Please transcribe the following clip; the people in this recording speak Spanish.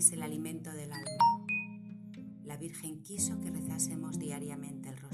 es el alimento del alma. La Virgen quiso que rezásemos diariamente el